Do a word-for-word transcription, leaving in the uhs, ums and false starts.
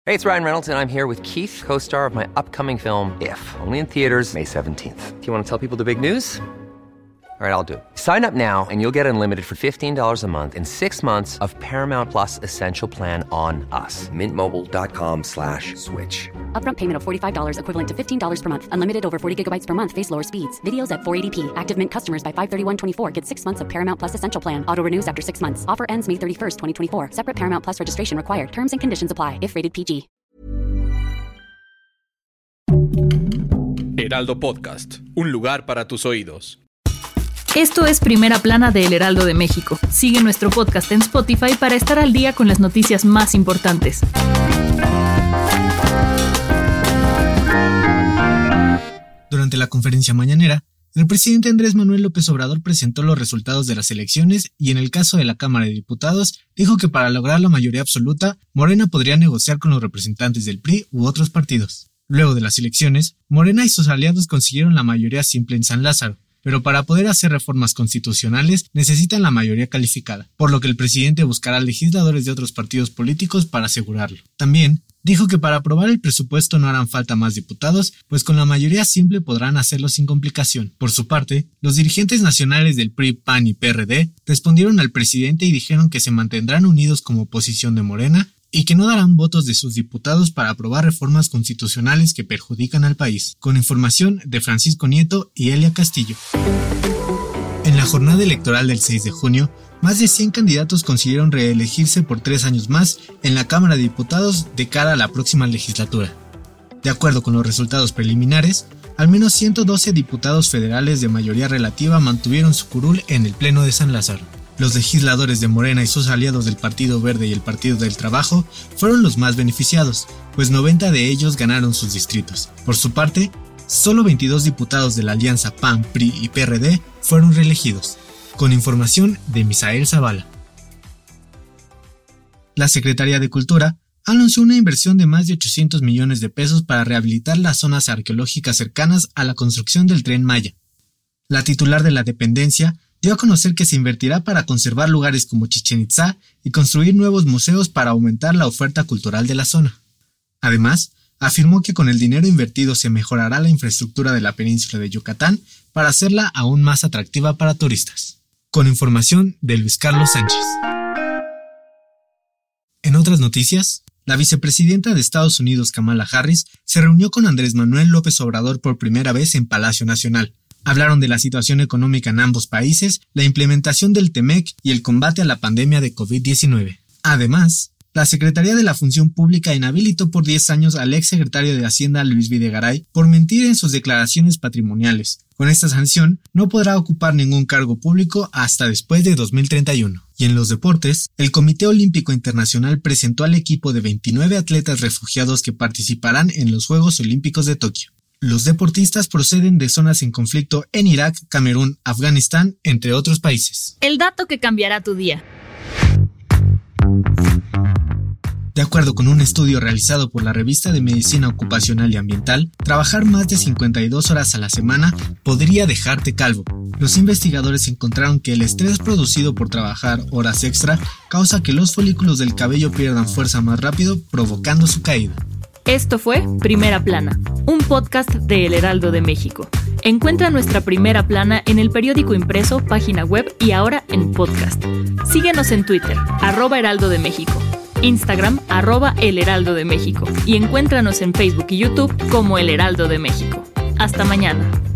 Hey, it's Ryan Reynolds, and I'm here with Keith, co-star of my upcoming film, If, only in theaters May seventeenth. Do you want to tell people the big news? All right, I'll do it. Sign up now and you'll get unlimited for fifteen dollars a month and six months of Paramount Plus Essential Plan on us. Mint Mobile dot com slash switch. Upfront payment of forty-five dollars equivalent to fifteen dollars per month. Unlimited over forty gigabytes per month. Face lower speeds. Videos at four eighty p. Active Mint customers by five thirty-one twenty-four get six months of Paramount Plus Essential Plan. Auto renews after six months. Offer ends May thirty-first, twenty twenty-four. Separate Paramount Plus registration required. Terms and conditions apply if rated P G. Heraldo Podcast. Un lugar para tus oídos. Esto es Primera Plana de El Heraldo de México. Sigue nuestro podcast en Spotify para estar al día con las noticias más importantes. Durante la conferencia mañanera, el presidente Andrés Manuel López Obrador presentó los resultados de las elecciones y en el caso de la Cámara de Diputados, dijo que para lograr la mayoría absoluta, Morena podría negociar con los representantes del P R I u otros partidos. Luego de las elecciones, Morena y sus aliados consiguieron la mayoría simple en San Lázaro, pero para poder hacer reformas constitucionales necesitan la mayoría calificada, por lo que el presidente buscará legisladores de otros partidos políticos para asegurarlo. También dijo que para aprobar el presupuesto no harán falta más diputados, pues con la mayoría simple podrán hacerlo sin complicación. Por su parte, los dirigentes nacionales del P R I, P A N y P R D respondieron al presidente y dijeron que se mantendrán unidos como oposición de Morena y que no darán votos de sus diputados para aprobar reformas constitucionales que perjudican al país. Con información de Francisco Nieto y Elia Castillo. En la jornada electoral del seis de junio, más de cien candidatos consiguieron reelegirse por tres años más en la Cámara de Diputados de cara a la próxima legislatura. De acuerdo con los resultados preliminares, al menos ciento doce diputados federales de mayoría relativa mantuvieron su curul en el Pleno de San Lázaro. Los legisladores de Morena y sus aliados del Partido Verde y el Partido del Trabajo fueron los más beneficiados, pues noventa de ellos ganaron sus distritos. Por su parte, solo veintidós diputados de la alianza P A N, P R I y P R D fueron reelegidos. Con información de Misael Zavala. La Secretaría de Cultura anunció una inversión de más de ochocientos millones de pesos para rehabilitar las zonas arqueológicas cercanas a la construcción del Tren Maya. La titular de la dependencia dio a conocer que se invertirá para conservar lugares como Chichén Itzá y construir nuevos museos para aumentar la oferta cultural de la zona. Además, afirmó que con el dinero invertido se mejorará la infraestructura de la península de Yucatán para hacerla aún más atractiva para turistas. Con información de Luis Carlos Sánchez. En otras noticias, la vicepresidenta de Estados Unidos, Kamala Harris, se reunió con Andrés Manuel López Obrador por primera vez en Palacio Nacional. Hablaron de la situación económica en ambos países, la implementación del T M E C y el combate a la pandemia de covid diecinueve. Además, la Secretaría de la Función Pública inhabilitó por diez años al exsecretario de Hacienda Luis Videgaray por mentir en sus declaraciones patrimoniales. Con esta sanción, no podrá ocupar ningún cargo público hasta después de dos mil treinta y uno. Y en los deportes, el Comité Olímpico Internacional presentó al equipo de veintinueve atletas refugiados que participarán en los Juegos Olímpicos de Tokio. Los deportistas proceden de zonas en conflicto en Irak, Camerún, Afganistán, entre otros países. El dato que cambiará tu día. De acuerdo con un estudio realizado por la revista de Medicina Ocupacional y Ambiental, trabajar más de cincuenta y dos horas a la semana podría dejarte calvo. Los investigadores encontraron que el estrés producido por trabajar horas extra causa que los folículos del cabello pierdan fuerza más rápido, provocando su caída. Esto fue Primera Plana, un podcast de El Heraldo de México. Encuentra nuestra Primera Plana en el periódico impreso, página web y ahora en podcast. Síguenos en Twitter, arroba Heraldo de México, Instagram, arroba El Heraldo de México y encuéntranos en Facebook y YouTube como El Heraldo de México. Hasta mañana.